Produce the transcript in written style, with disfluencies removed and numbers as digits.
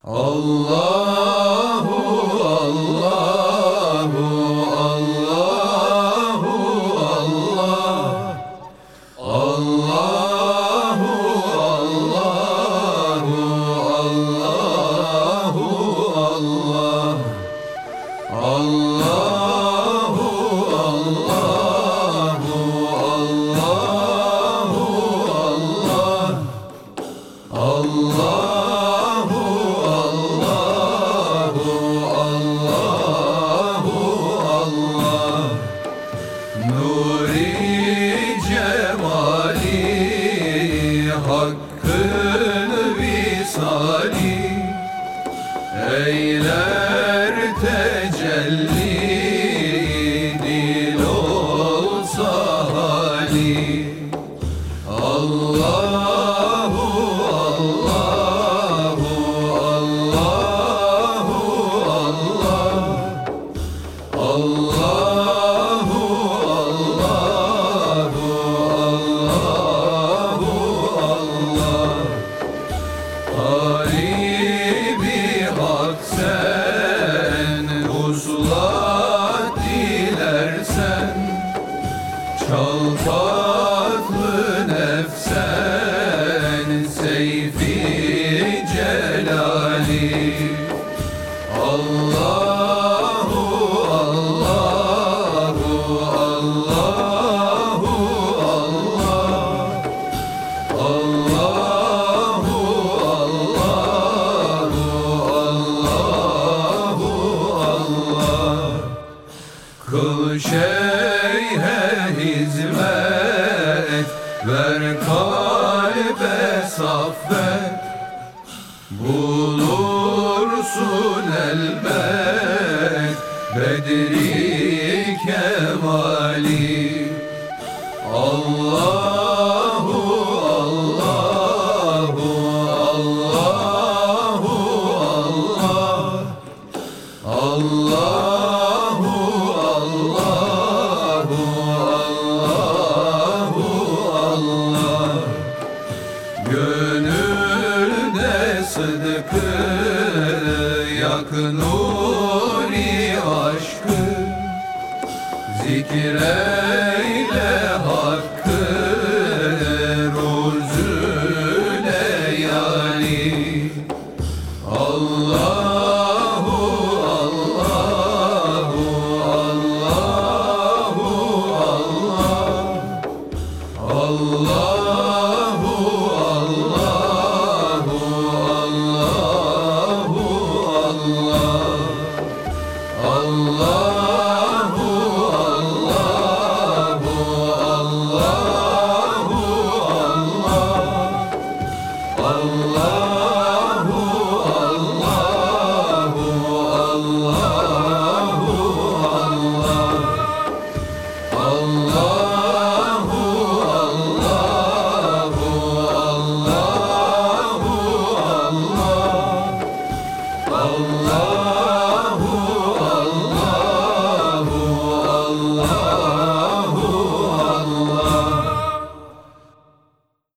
Allahu Allahu Allahu Allah Allahu Allahu Allahu Allah Allahu Allahu Allahu Allah Nuri cemali hakkın visali eyler tecelli dil olsa hali Allahu Allahu Allahu Allah Garibi hak sen, uzlat dilersen, çal tatlı nefsen, seyfi celali. Allahu, Allahu, Allahu, Allah, Kıl şeyhe hizmet, ver kalbe saffet, bulursun elbet bedri kemali. Allahu, Allahu, Allahu, Allah, Gönülde sıdkı, yak nuri aşkı, zikreyle hakkı, ruzüle yani. Allahu, Allahu, Allahu, Allah, Allahu, Allahu, Allahu, Allahu, Allahu, Allahu, Allah